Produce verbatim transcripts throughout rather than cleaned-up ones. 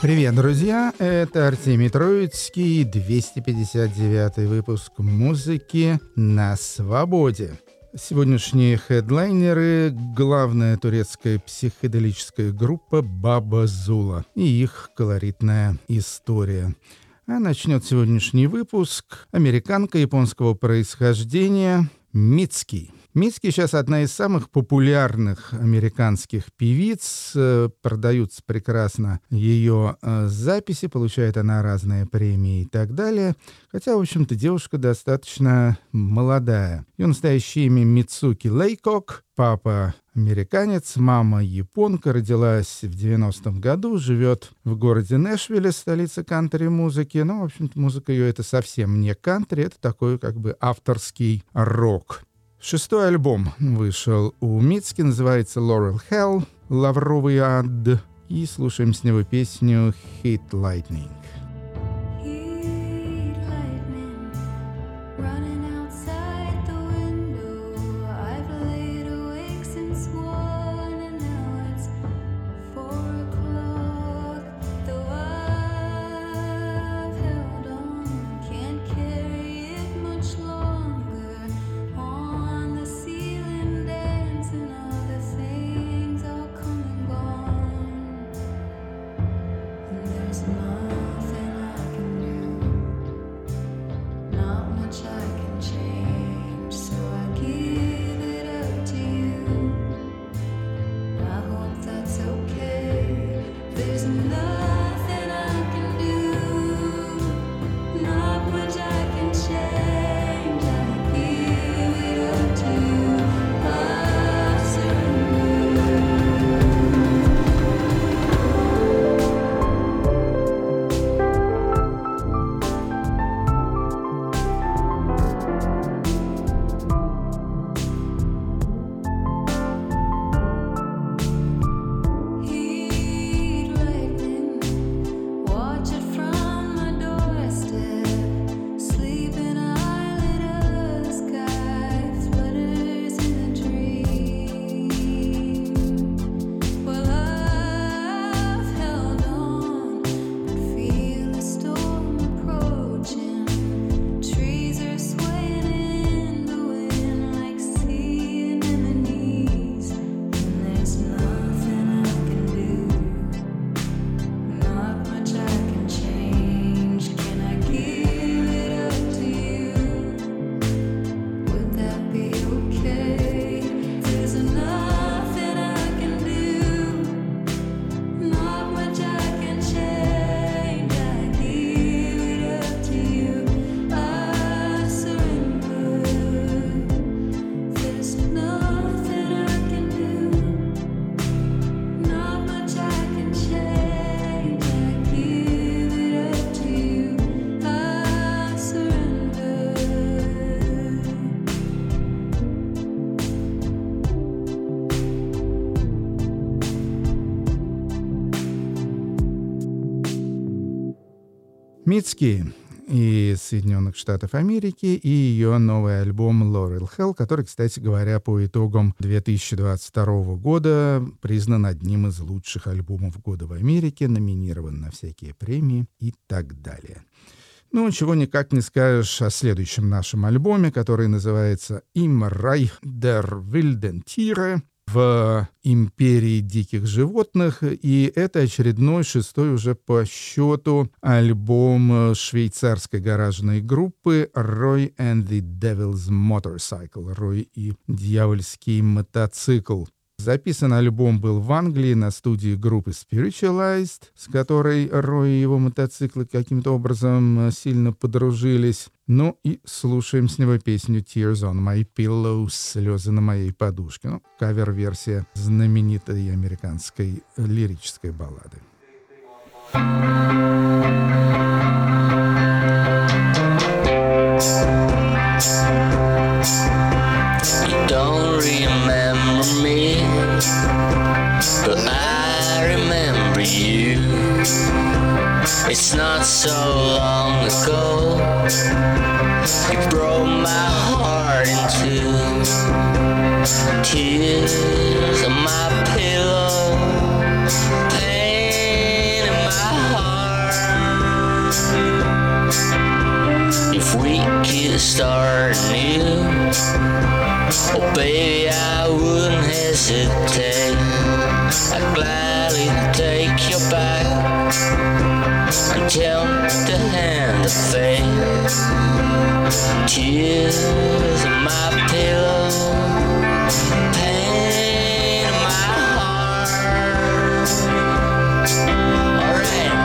Привет, друзья! Это Артемий Троицкий, двести пятьдесят девятый выпуск музыки на свободе. Сегодняшние хедлайнеры — главная турецкая психоделическая группа Баба Зула и их колоритная история. А начнет сегодняшний выпуск американка японского происхождения Митски. Митски сейчас одна из самых популярных американских певиц. Продаются прекрасно ее записи, получает она разные премии и так далее. Хотя, в общем-то, девушка достаточно молодая. Ее настоящее имя Мицуки Лейкок. Папа американец, мама японка, родилась в девяностом году, живет в городе Нэшвилле, столице кантри-музыки. Но, в общем-то, музыка ее — это совсем не кантри, это такой как бы авторский рок. Шестой альбом вышел у Митски, называется Laurel Hell, Лавровый ад, и слушаем с него песню Heat Lightning. Митски из Соединенных Штатов Америки и ее новый альбом Laurel Hell, который, кстати говоря, по итогам две тысячи двадцать второго года признан одним из лучших альбомов года в Америке, номинирован на всякие премии и так далее. Ну, чего никак не скажешь о следующем нашем альбоме, который называется «Im Reich der wilden Tiere», в «Империи диких животных», и это очередной, шестой уже по счету альбом швейцарской гаражной группы «Roy and the Devil's Motorcycle», «Рой и дьявольский мотоцикл». Записан альбом был в Англии на студии группы Spiritualized, с которой Рой и его мотоциклы каким-то образом сильно подружились. Ну и слушаем с него песню «Tears on my pillow», «Слезы на моей подушке». Ну, кавер-версия знаменитой американской лирической баллады. You don't remember me, but I remember you. It's not so long ago you broke my heart in two. Tears on my pillow, pain in my heart. could start anew, oh baby, I wouldn't hesitate. I'd gladly take you back until the hand of fate. Tears in my pillow, pain in my heart. Alright.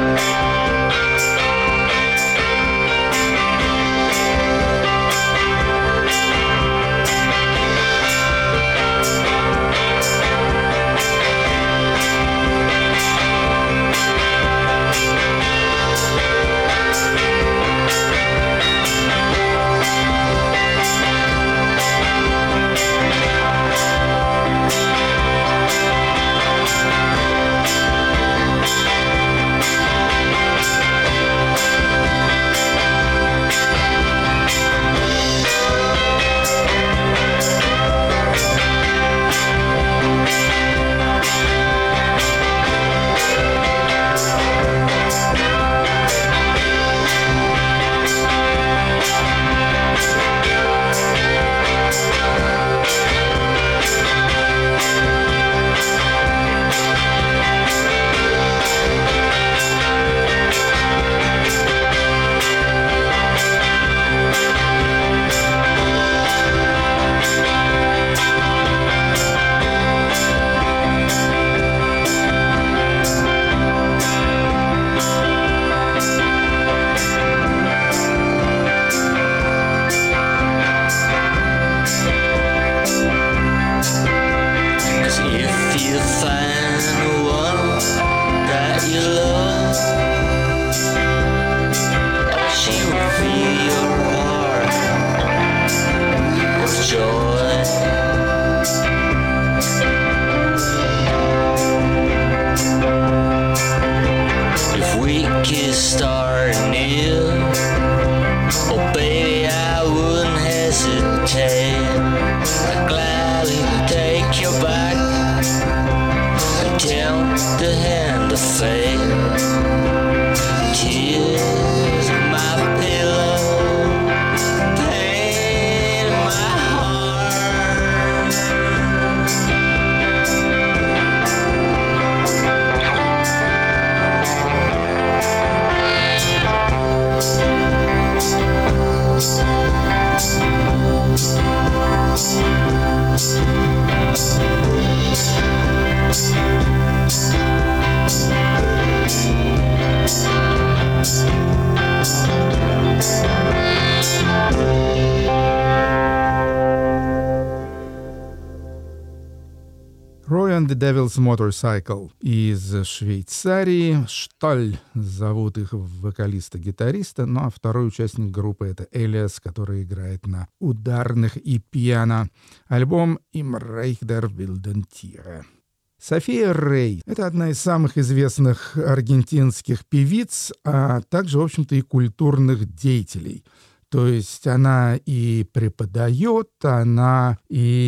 The Devil's Motorcycle из Швейцарии. Шталь зовут их вокалиста-гитариста, ну а второй участник группы — это Элиас, который играет на ударных и пиано. Альбом «Im Reich der wilden Tiere». София Рей — это одна из самых известных аргентинских певиц, а также, в общем-то, и культурных деятелей. То есть она и преподает, она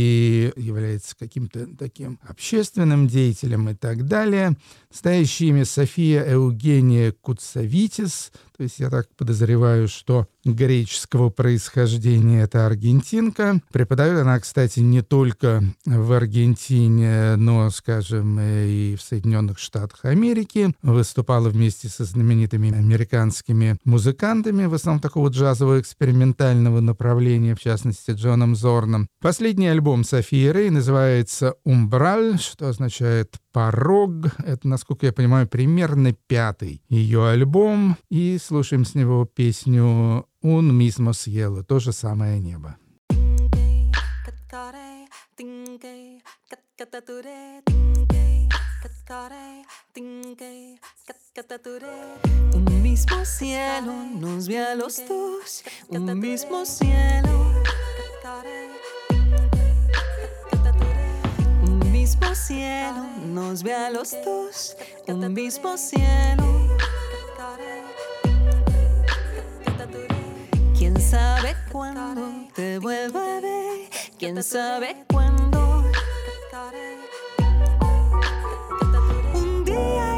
и является каким-то таким общественным деятелем и так далее. Настоящее имя София Евгения Куцавитис. То есть я так подозреваю, что греческого происхождения это аргентинка. Преподает она, кстати, не только в Аргентине, но, скажем, и в Соединенных Штатах Америки. Выступала вместе со знаменитыми американскими музыкантами, в основном такого джазового экспериментального направления, в частности, Джоном Зорном. Последний альбом Софии Рей называется «Умбраль», что означает «порог». Это, насколько я понимаю, примерно пятый ее альбом. И слушаем с него песню «Un mismo cielo», то же самое небо. Un mismo cielo nos ve a los dos, un mismo cielo. Un mismo cielo nos ve a los dos, un mismo cielo. ¿Quién sabe cuándo te vuelva a ver? ¿Quién sabe cuándo? Un día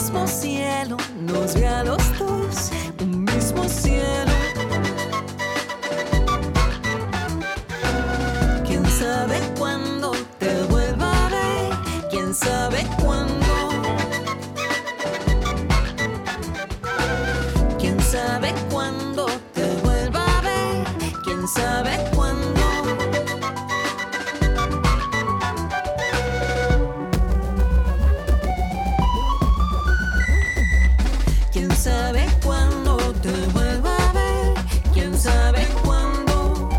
mismo cielo nos ve a los dos, un mismo cielo. ¿Quién sabe cuándo te vuelva a ver? ¿Quién sabe cuándo? ¿Quién sabe cuándo te vuelva a ver? ¿Quién sabe cuándo? ¿Quién sabe cuándo te vuelva a ver? ¿Quién sabe cuándo?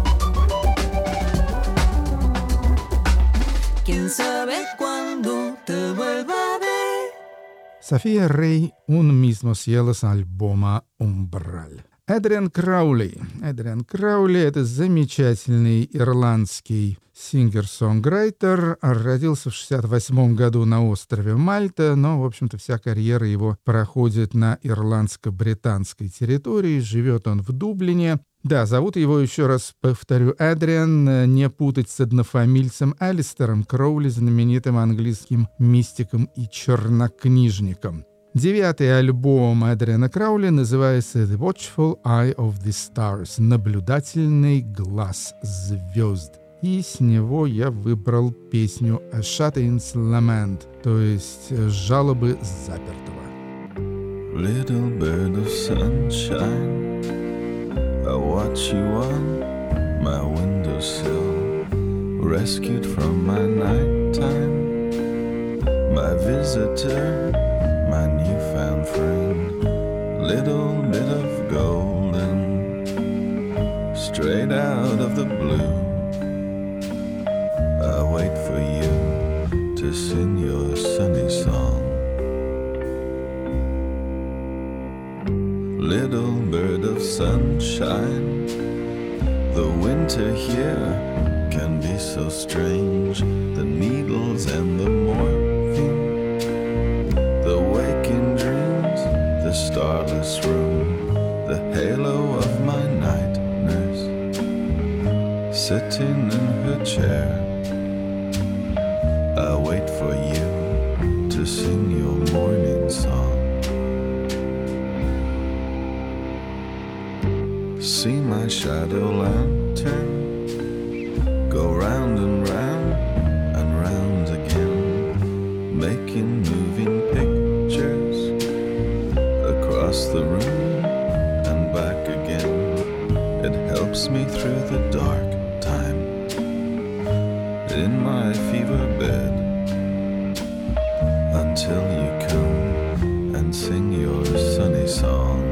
¿Quién sabe cuándo te vuelva a ver? София Рей «Un mismo cielo» с альбома «Умбраль». Эдриан Краули. Эдриан Краули — это замечательный ирландский сингер-сонграйтер. Родился в шестьдесят восьмом году на острове Мальта, но, в общем-то, вся карьера его проходит на ирландско-британской территории. Живет он в Дублине. Да, зовут его, еще раз повторю, Эдриан, не путать с однофамильцем Алистером Кроули, знаменитым английским мистиком и чернокнижником. Девятый альбом Эдриана Краули называется «The Watchful Eye of the Stars» — «Наблюдательный глаз звезд». И с него я выбрал песню «A Shut-in's Lament», то есть «Жалобы запертого». Little bird of sunshine, I watch you on my windowsill, rescued from my nighttime, my visitor, my newfound friend, little bit of golden, straight out of the blue. I wait for you to sing your sunny song. Little bird of sunshine, the winter here can be so strange. The needles and the morphine, the waking dreams, the starless room, the halo of my night nurse, sitting in her chair. I wait for you to sing your morning song. See my shadow lantern go round and round and round again, making moving pictures across the room and back again. It helps me through the dark time in my fever bed until you come and sing your sunny song.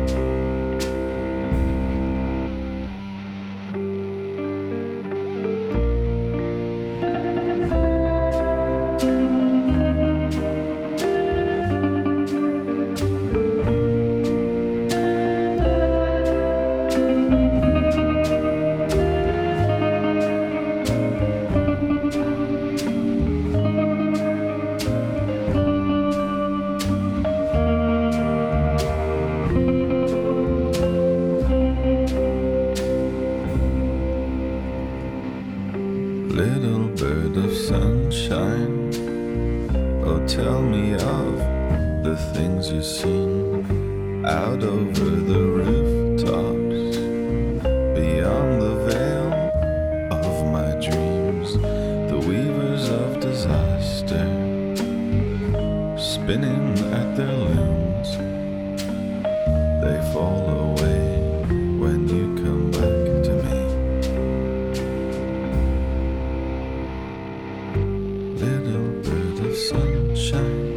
Little bird of sunshine, oh tell me of the things you've seen out over the rooftops, beyond the veil of my dreams, the weavers of disaster, spinning at their looms, they fall away when you come back to me. Little bird of sunshine,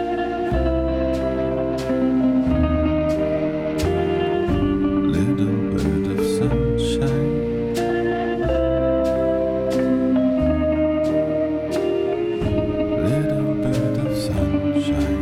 little bird of sunshine, little bird of sunshine.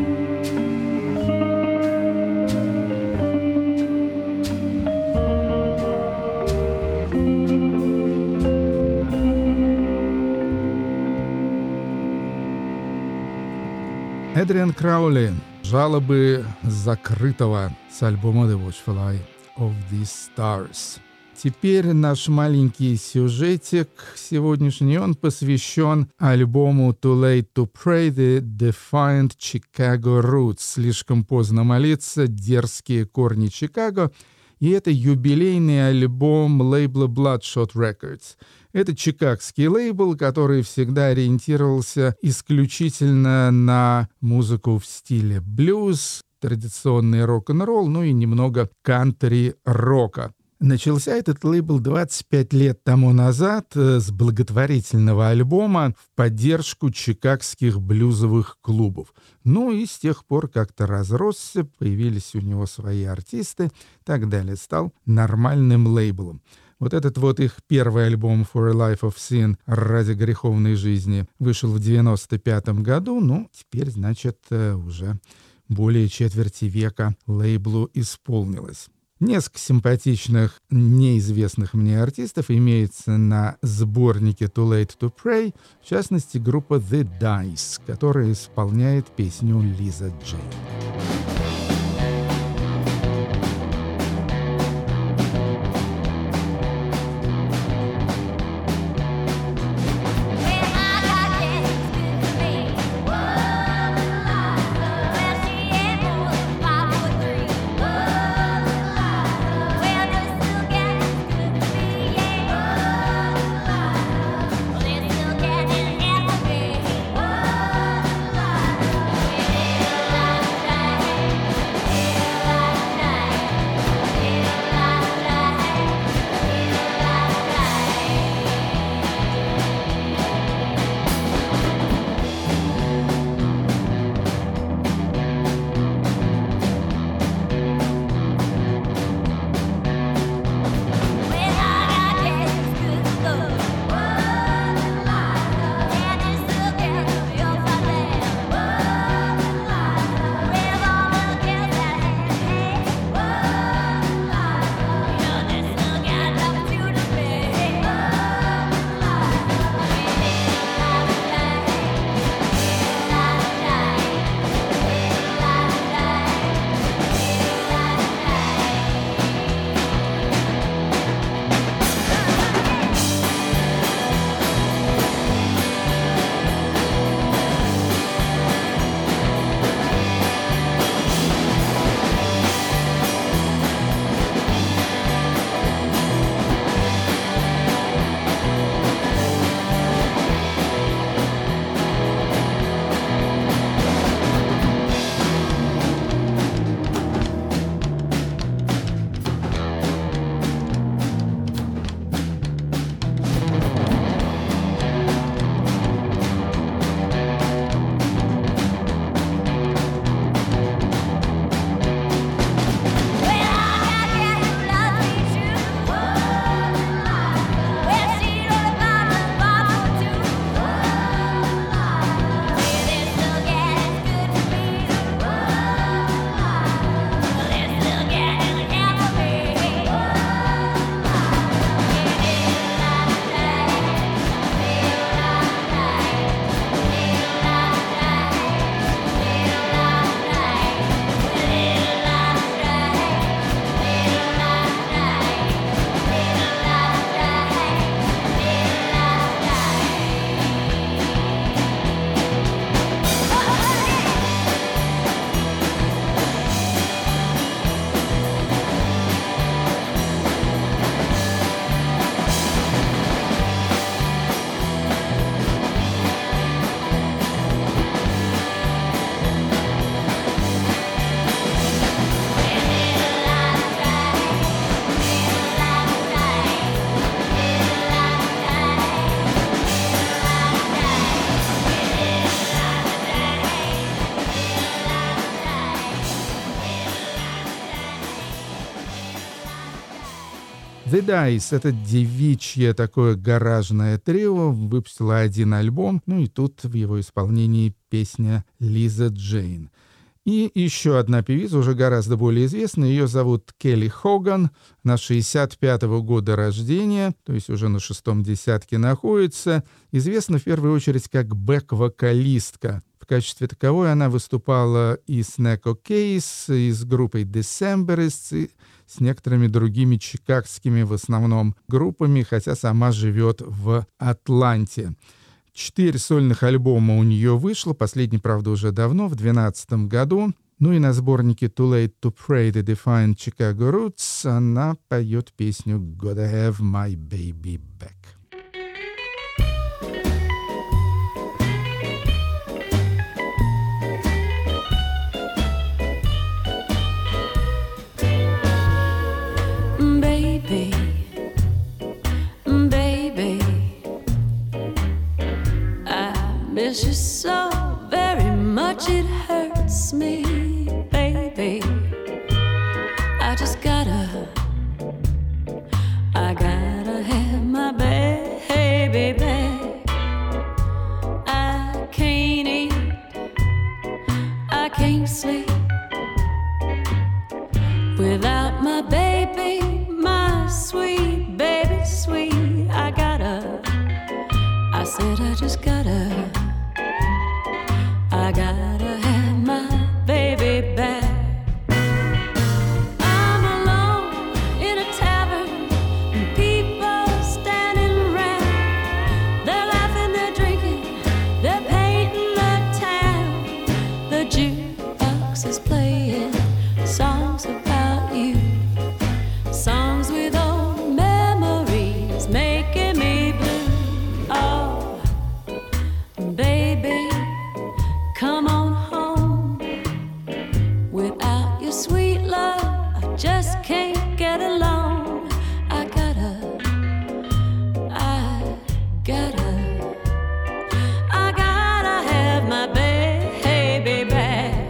Эдриан Краули. Жалобы закрытого с альбома The Watchful Eye of the Stars. Теперь наш маленький сюжетик сегодняшний, он посвящен альбому Too Late to Pray, The Defiant Chicago Roots. Слишком поздно молиться, дерзкие корни Чикаго. И это юбилейный альбом лейбла Bloodshot Records. Это чикагский лейбл, который всегда ориентировался исключительно на музыку в стиле блюз, традиционный рок-н-ролл, ну и немного кантри-рока. Начался этот лейбл двадцать пять лет тому назад с благотворительного альбома в поддержку чикагских блюзовых клубов. Ну и с тех пор как-то разросся, появились у него свои артисты и так далее. Стал нормальным лейблом. Вот этот вот их первый альбом «For a Life of Sin» ради греховной жизни вышел в девяносто пятом году. Ну, теперь, значит, уже более четверти века лейблу исполнилось. Несколько симпатичных, неизвестных мне артистов имеется на сборнике Too Late to Pray, в частности, группа The Dice, которая исполняет песню Лиза Джейн. The Dice — это девичье такое гаражное трио, выпустило один альбом, ну и тут в его исполнении песня Лиза Джейн. И еще одна певица, уже гораздо более известная, ее зовут Келли Хоган, она шестьдесят пятого года рождения, то есть уже на шестом десятке находится, известна в первую очередь как бэк-вокалистка. В качестве таковой она выступала и с Неко Кейс, и с группой Decemberists, и с некоторыми другими чикагскими в основном группами, хотя сама живет в Атланте. Четыре сольных альбома у нее вышло, последний, правда, уже давно, в две тысячи двенадцатом году. Ну и на сборнике Too Late to Pray the Defiant Chicago Roots она поет песню Gotta Have My Baby Back. Baby, baby, I miss you so very much it hurts me, baby. I just gotta, I gotta have my baby back. I can't eat, I can't sleep without my baby, my sweet baby, sweet. I gotta, I said I just gotta, I gotta have my baby back. I'm alone in a tavern and people standing around. They're laughing, they're drinking, they're painting the town. The jukebox is playing songs about you, songs with old memories making me blue. Oh, baby, come on home. Without your sweet love, I just can't get along. I gotta, I gotta, I gotta have my baby back.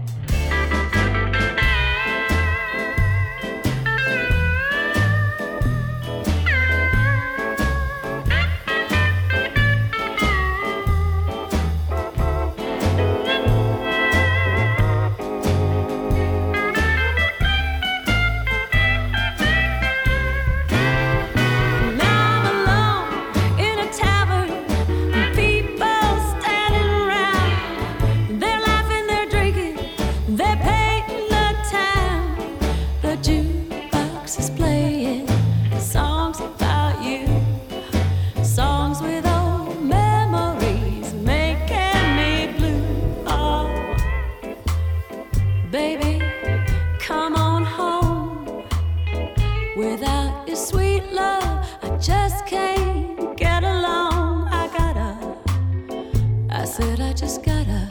Baby, come on home. Without your sweet love, I just can't get along. I gotta, I said I just gotta,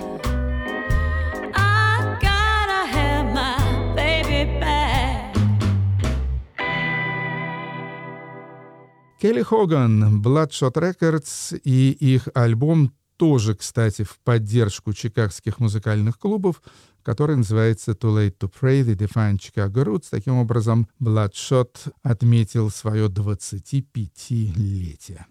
I gotta have my baby back. Келли Хоган, Bloodshot Records и их альбом тоже, кстати, в поддержку чикагских музыкальных клубов, который называется Too Late to Pray the Defiant Chicago Roots. Таким образом, Bloodshot отметил свое двадцатипятилетие.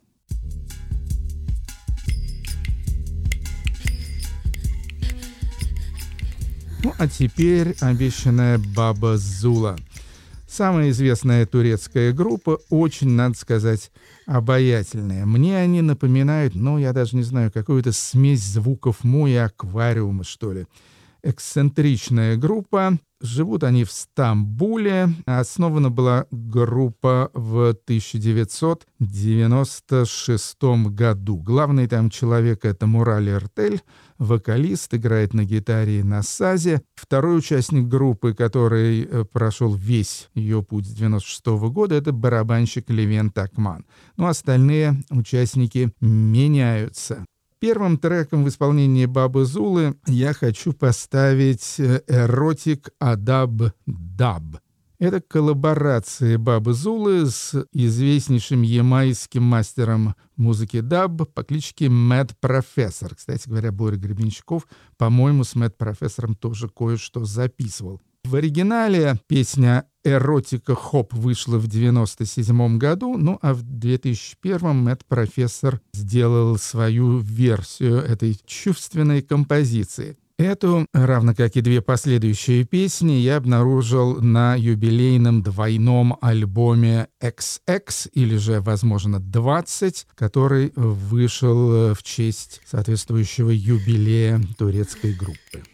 Ну, а теперь обещанная Баба Зула. Самая известная турецкая группа, очень, надо сказать, обаятельная. Мне они напоминают, ну, я даже не знаю, какую-то смесь звуков Мо и Аквариума, что ли. Эксцентричная группа. Живут они в Стамбуле. Основана была группа в тысяча девятьсот девяносто шестом году. Главный там человек — это Мурали Эртель, вокалист, играет на гитаре и на сазе. Второй участник группы, который прошел весь ее путь с девяносто шестого года, это барабанщик Левент Акман. Ну, остальные участники меняются. Первым треком в исполнении Бабы Зулы я хочу поставить «Эротик Адаб Даб». Это коллаборация Бабы Зулы с известнейшим ямайским мастером музыки даб по кличке Мэд Профессор. Кстати говоря, Боря Гребенщиков, по-моему, с Мэд Профессором тоже кое-что записывал. В оригинале песня «Эротика Хоп» вышла в девяносто седьмом году, ну а в две тысячи первом Мэд Профессор сделал свою версию этой чувственной композиции. Эту, равно как и две последующие песни, я обнаружил на юбилейном двойном альбоме икс икс, или же, возможно, двадцать, который вышел в честь соответствующего юбилея турецкой группы.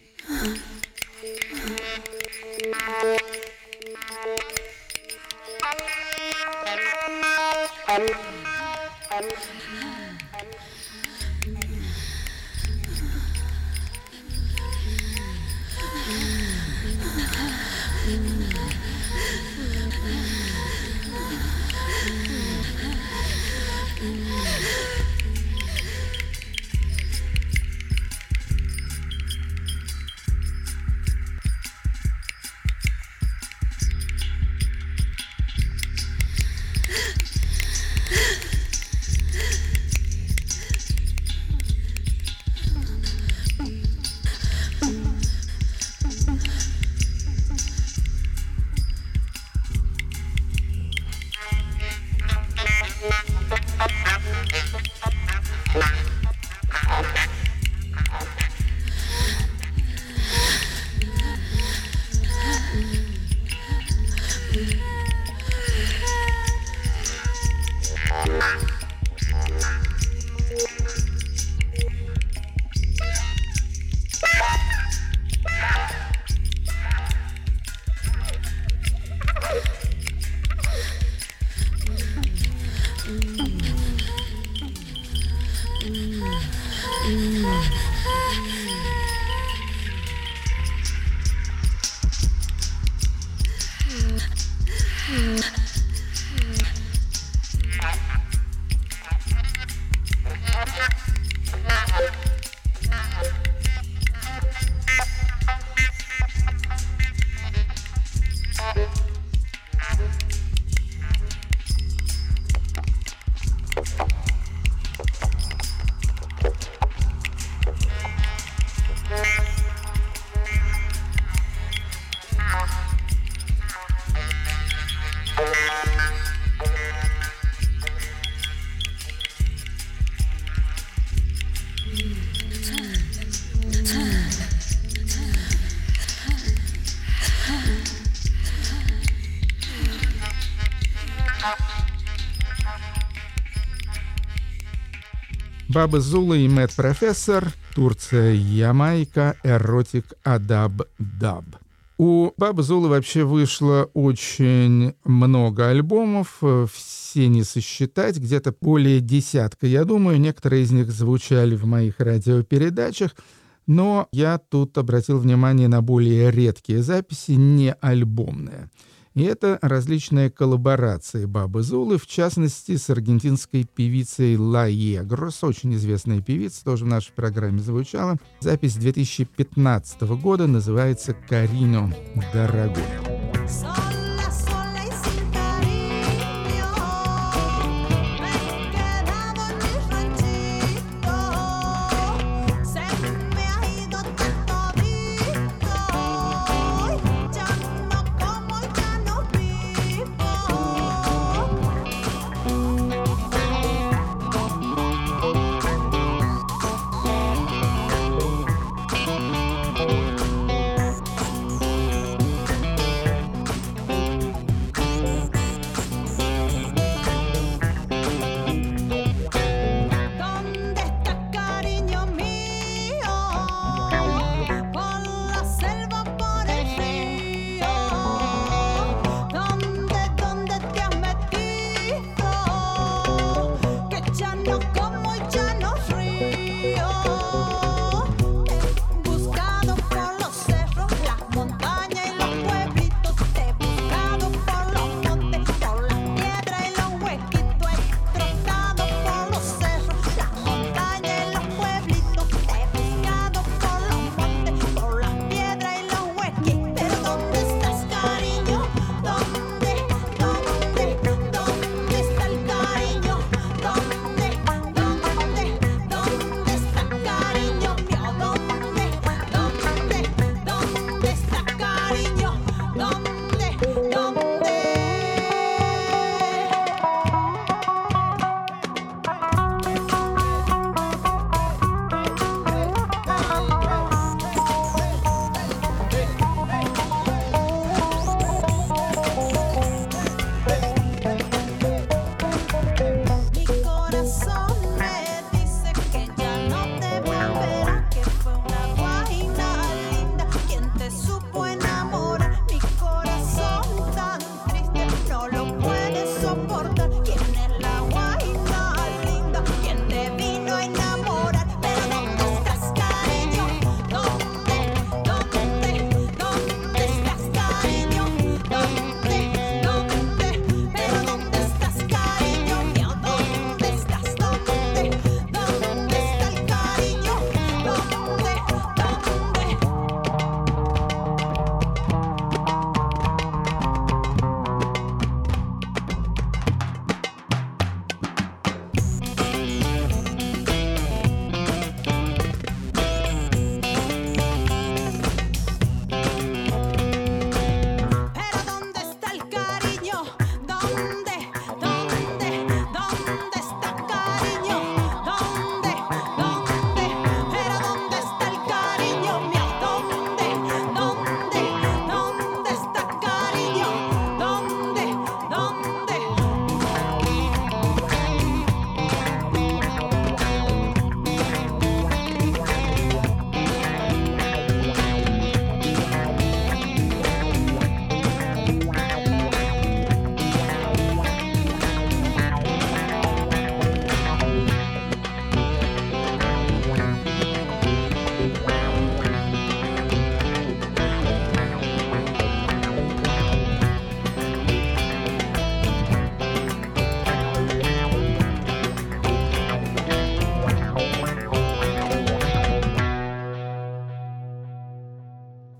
Баба Зула и Мэт Профессор, Турция, Ямайка, Эротик Адаб Даб. У Бабы Зулы вообще вышло очень много альбомов, все не сосчитать, где-то более десятка, я думаю. Некоторые из них звучали в моих радиопередачах, но я тут обратил внимание на более редкие записи, не альбомные. И это различные коллаборации Бабы Зулы, в частности, с аргентинской певицей Ла Егрос, очень известная певица, тоже в нашей программе звучала. Запись две тысячи пятнадцатого года, называется «Карино, дорогой».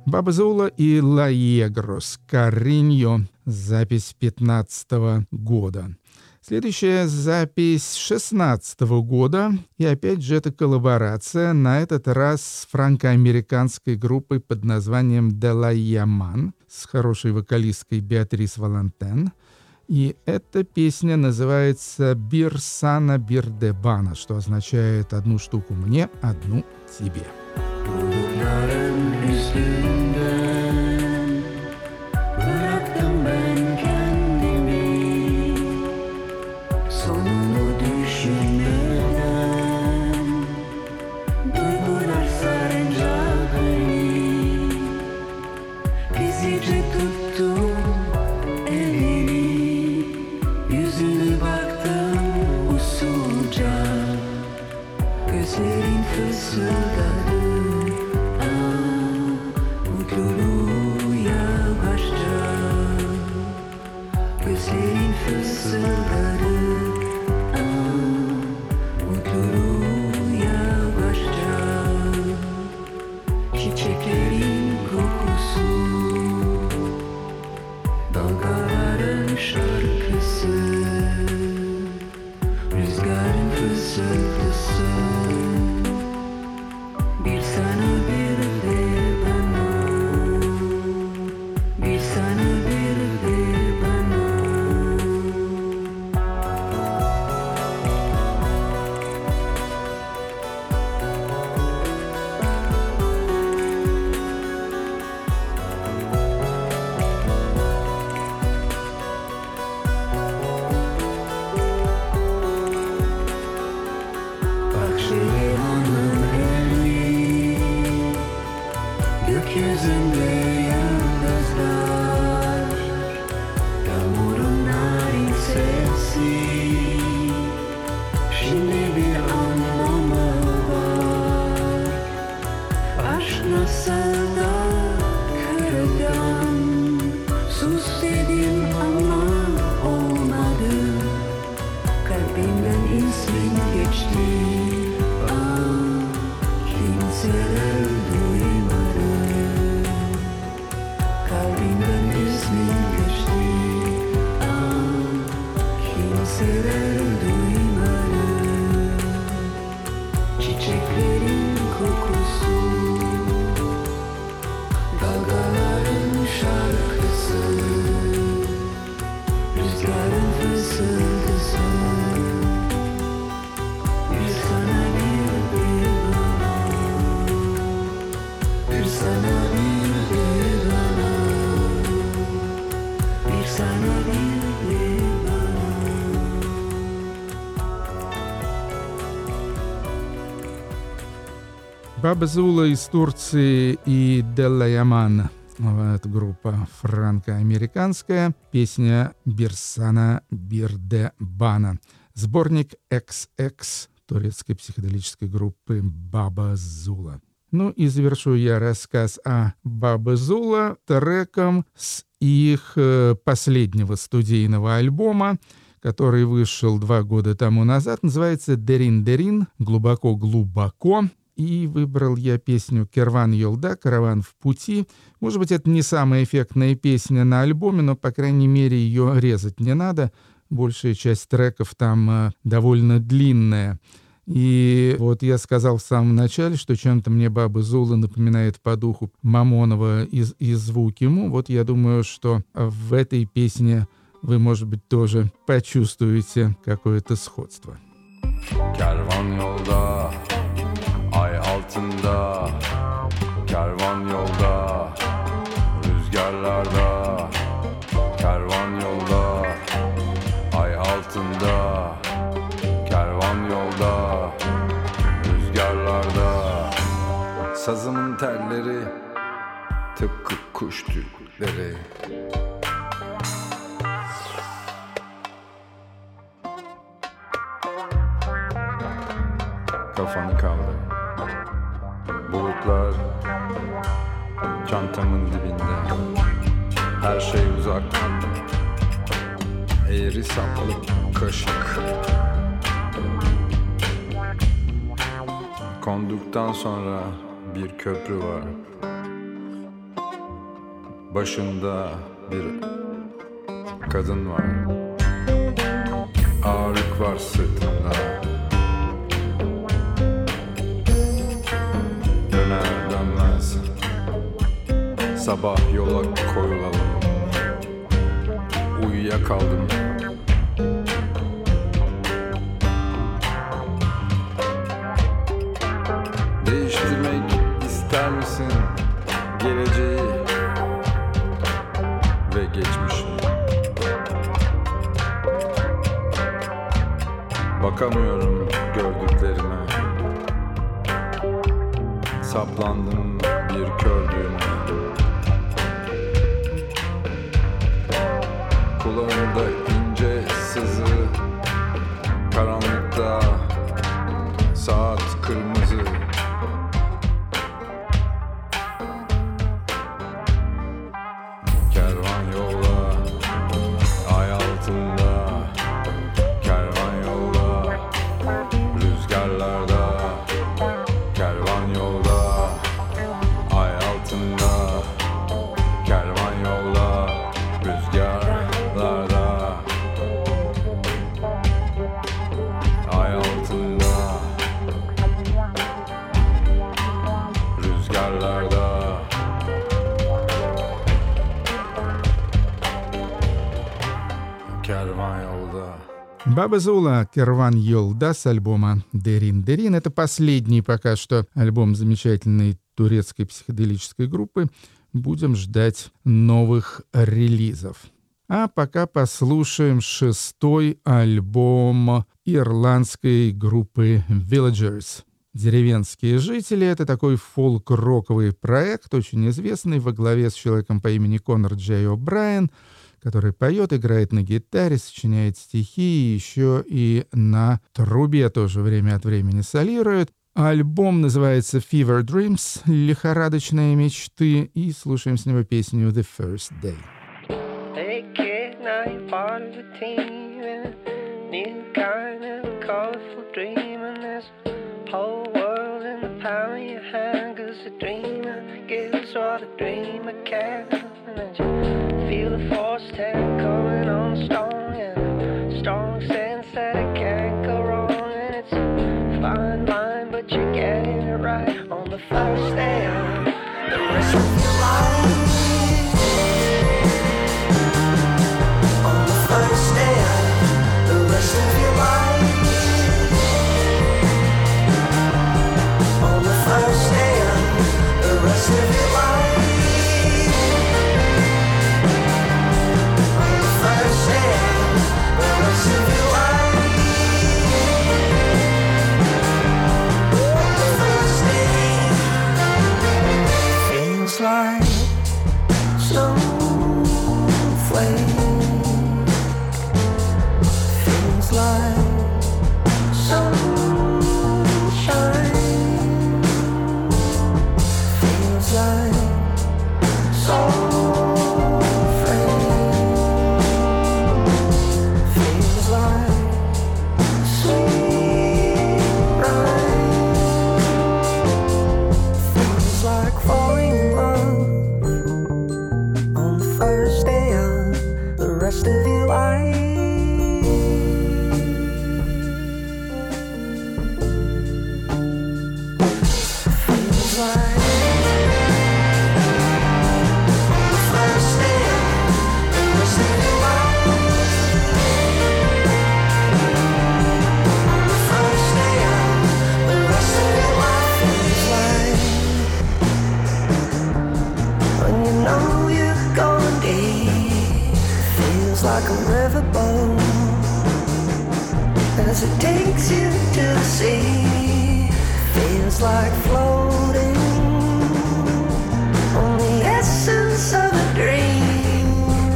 Баба Зула и Ла Егрос, Кариньо, запись пятнадцатого года. Следующая запись шестнадцатого года, и опять же это коллаборация, на этот раз с франко-американской группой под названием «Де ла Яман» с хорошей вокалисткой Беатрис Валентен. И эта песня называется «Бир Сана Бир де Бана», что означает «одну штуку мне, одну тебе». Баба Зула из Турции и Де ла Яман. Это группа франко-американская. Песня «Бир Сана Бир де Бана». Сборник икс икс турецкой психоделической группы Баба Зула. Ну и завершу я рассказ о Баба Зула треком с их последнего студийного альбома, который вышел два года тому назад. Называется «Дерин-Дерин», «Глубоко-глубоко». И выбрал я песню «Керван Йолда», «Караван в пути». Может быть, это не самая эффектная песня на альбоме, но, по крайней мере, ее резать не надо. Большая часть треков там э, довольно длинная. И вот я сказал в самом начале, что чем-то мне Баба Зула напоминает по духу Мамонова и, и звук ему. Вот я думаю, что в этой песне вы, может быть, тоже почувствуете какое-то сходство. Kervan yolda, ay altında, kervan yolda, rüzgarlarda, kervan yolda, ay altında, kervan yolda, rüzgarlarda. Sazımın telleri, tıpkı kuş tüyleri. Kafanı kaldır. Bulutlar çantamın dibinde. Her şey uzak. Eğri saplı kaşık. Konduktan sonra bir köprü var. Başında bir kadın var. Ağırlık var sırtında. Döner dönmez sabah yola koyulalım. Uyuyakaldım. Değiştirmek ister misin geleceği ve geçmişi? Bakamıyorum gördüklerime. Saplandım bir kördüğüne. Kulağımda ince sızı, karanlıkta saat kırmızı. Kervan yola, ay altında. Kervan yola, rüzgarlarda. Kervan yolda, ay altında. Kervan yolda, rüzgarlarda. Ay altında, rüzgarlarda. Kervan yolda. Баба Зула, Керван Йолда с альбома «Дерин Дерин». Это последний пока что альбом замечательной турецкой психоделической группы. Будем ждать новых релизов. А пока послушаем шестой альбом ирландской группы Villagers. «Деревенские жители» — это такой фолк-роковый проект, очень известный, во главе с человеком по имени Конор Джей О'Брайен, который поет, играет на гитаре, сочиняет стихи, еще и на трубе тоже время от времени солирует. Альбом называется «Fever Dreams» — «Лихорадочные мечты», и слушаем с него песню «The First Day». Hey kid, now you're part of a team and a new kind of colorful dream, and this whole world in the palm of your hand, 'cause the dreamer gives what a dreamer can. And then you feel the force hand coming on strong, and a strong sense that it can't go wrong, and it's a fine line, but you're getting it right on the first day of the rest of your life. On the first day of the rest of your life. On the first day of the rest of your life. On the first day of the rest of your life. The first day feels like snowflake. Feels like sunshine. Feels like soul frame. Feels like sweet rhyme. Feels like falling in love on the first day of the rest of your life. Feels like the first day of the rest of your life. The first day of the rest of your life. Feels like when you know you're going deep. Feels like a riverboat as it takes you to the sea. Feels like floating on the essence of a dream.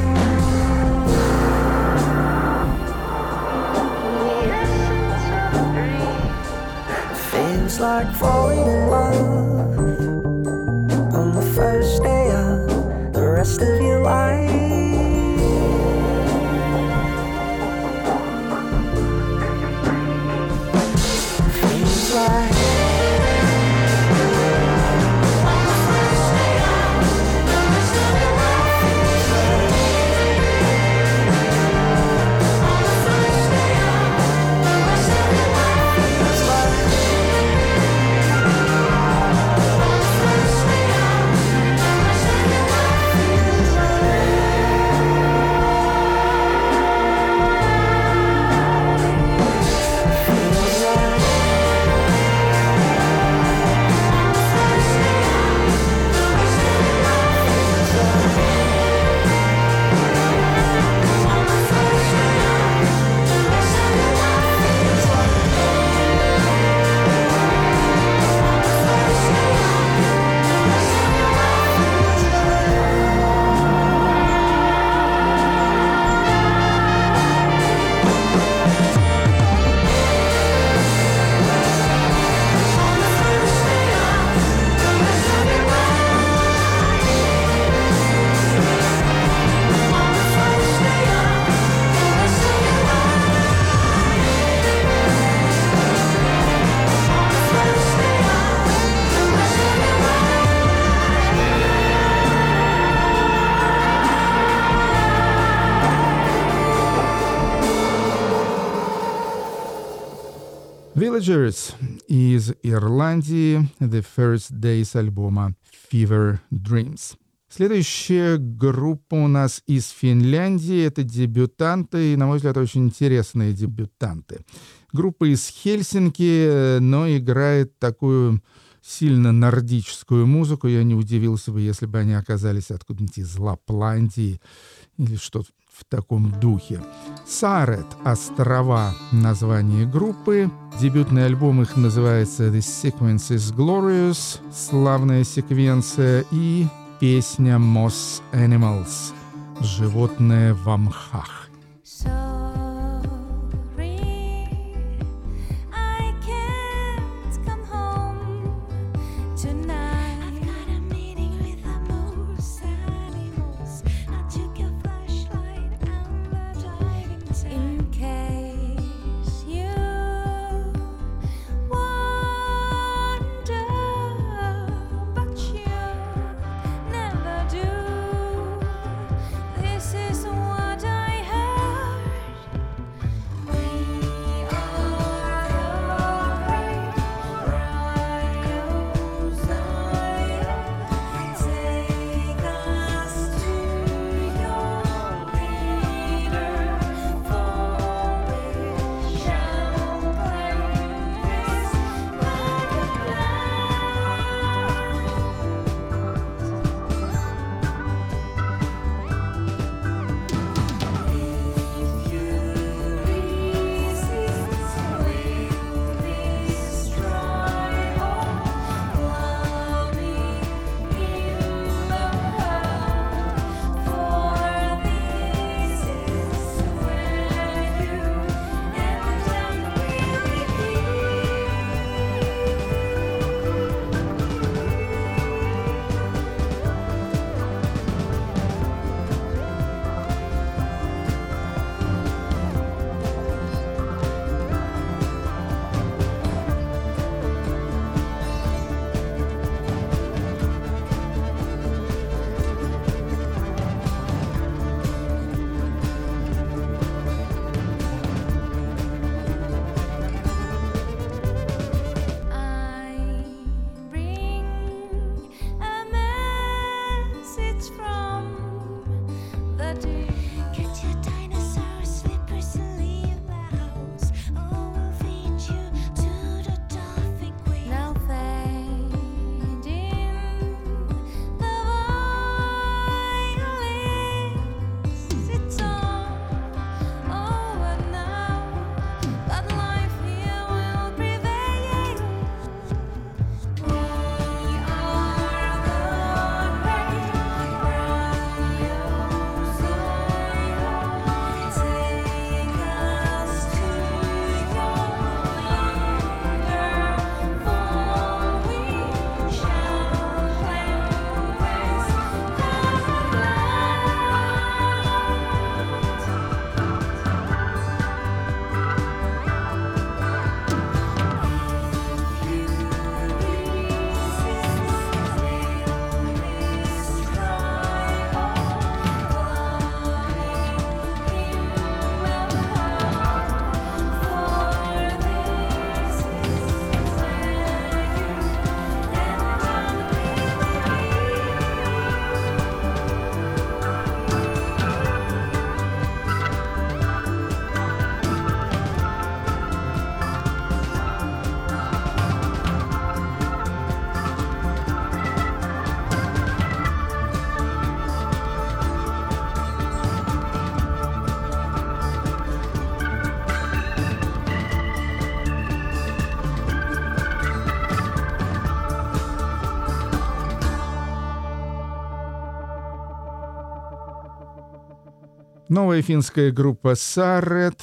The essence of a dream. Feels like falling in love on the first day of the rest of your life. Feels like on the first day of the rest of your life. Villagers из Ирландии, The First Days альбома Fever Dreams. Следующая группа у нас из Финляндии. Это дебютанты, и, на мой взгляд, очень интересные дебютанты. Группа из Хельсинки, но играет такую сильно нордическую музыку. Я не удивился бы, если бы они оказались откуда-нибудь из Лапландии или что-то в таком духе. Саарет, острова, название группы. Дебютный альбом их называется The Sequence is Glorious, славная секвенция, и песня Moss Animals, животное в мхах. Новая финская группа Saaret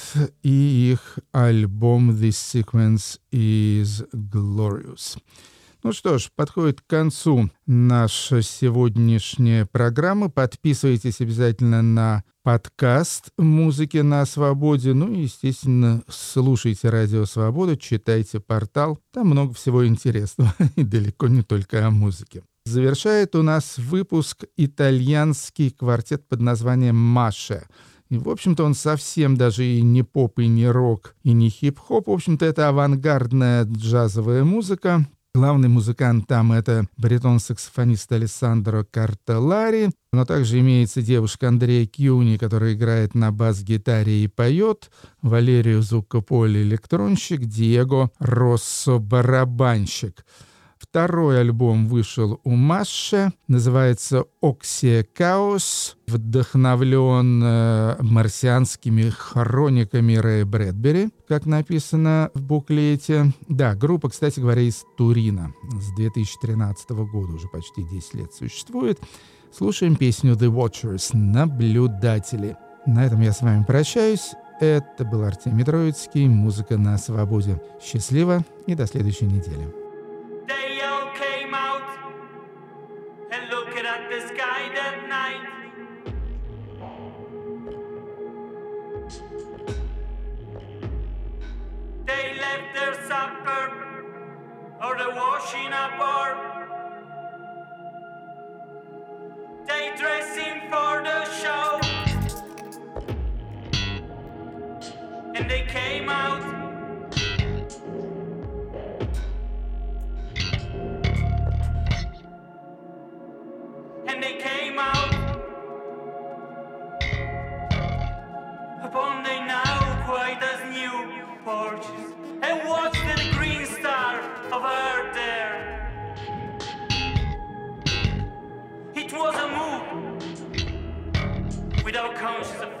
и их альбом This Sequence is Glorious. Ну что ж, подходит к концу наша сегодняшняя программа. Подписывайтесь обязательно на подкаст «Музыки на свободе». Ну и, естественно, слушайте «Радио Свобода», читайте портал. Там много всего интересного, и далеко не только о музыке. Завершает у нас выпуск итальянский квартет под названием «Маша». И, в общем-то, он совсем даже и не поп, и не рок, и не хип-хоп. В общем-то, это авангардная джазовая музыка. Главный музыкант там — это баритон-саксофонист Алессандро Картеллари, но также имеется девушка Андрея Кьюни, которая играет на бас-гитаре и поет, Валерио Зуккополи — электронщик, Диего Россо — барабанщик. Второй альбом вышел у Масше, называется «Оксия Каос», вдохновлен э, марсианскими хрониками Рэя Брэдбери, как написано в буклете. Да, группа, кстати говоря, из Турина. С две тысячи тринадцатого года, уже почти десять лет существует. Слушаем песню «The Watchers» — «Наблюдатели». На этом я с вами прощаюсь. Это был Артемий Троицкий, «Музыка на свободе». Счастливо и до следующей недели. They all came out and looked at the sky that night. They left their supper or the washing up or they dressing for the show and they came out. And they came out upon the now quite as new porches and watched the green star of Earth there. It was a move without conscious